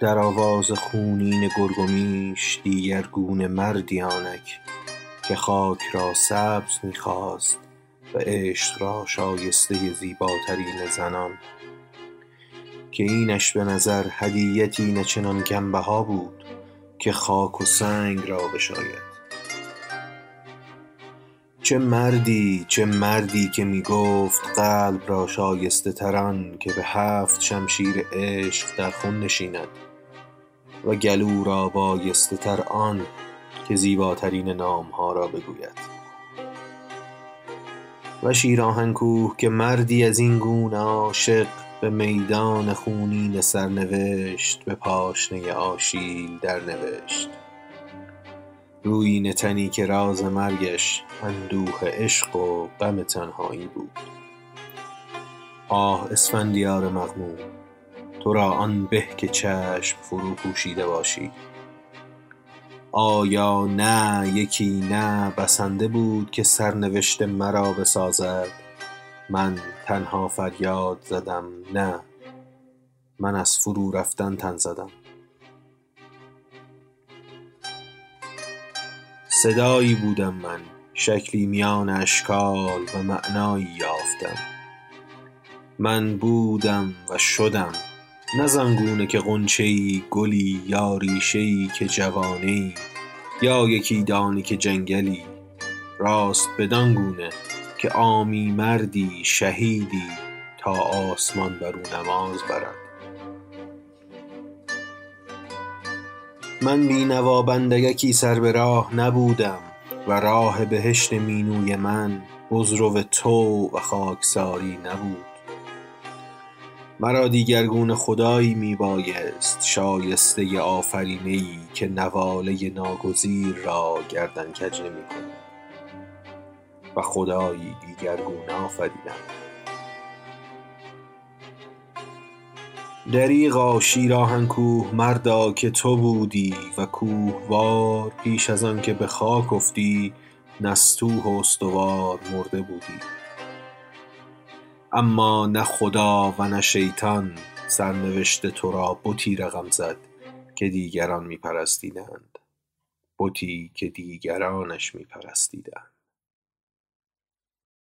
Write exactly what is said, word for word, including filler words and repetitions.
در آواز خونین گرگ و میش دیگر گونه مردی آنک که خاک را سبز می‌خواست و عشق را شایسته زیباترین زنان، که اینش به نظر هدیتی نه چنان کم‌بها بود که خاک و سنگ را بشاید. چه مردی چه مردی که می گفت قلب را شایسته تر آن که به هفت شمشیر عشق در خون نشیند و گلو را بایسته تر آن که زیباترین نامها را بگوید. و شیر آهنکوه که مردی از این گونه عاشق به میدان خونین سرنوشت به پاشنه آشیل در نوشت. رویین تنی که راز مرگش اندوه عشق و غم تنهایی بود. آه اسفندیار مغموم، تو را آن به که چشم فرو پوشیده باشی. آیا نه یکی نه بسنده بود که سرنوشت مرا بسازد؟ من تنها فریاد زدم نه، من از فرو رفتن تن زدم. صدایی بودم من، شکلی میان اشکال و معنایی یافتم. من بودم و شدم، نه زآنگونه که غنچه‌ای گلی یا ریشه‌ای که جوانه‌ای یا یکی دانه که جنگلی، راست بدان گونه که عامی مردی شهیدی تا آسمان بر او نماز برد. من بینوا بندگکی سر به راه نبودم و راه بهشت مینوی من بزرو تو و خاکساری نبود. مرا دیگرگونه خدایی می بایست شایسته آفرینه‌ای که نواله ناگزیر را گردن کج نمی کند و خدایی دیگرگونه آفریدم. دریغا شیر آهنکوه مردا که تو بودی و کوهوار پیش از آن که به خاک افتی نستوه و استوار مرده بودی. اما نه خدا و نه شیطان سرنوشت تو را بتی رقم زد که دیگران می پرستیدند، بتی که دیگرانش می پرستیدند.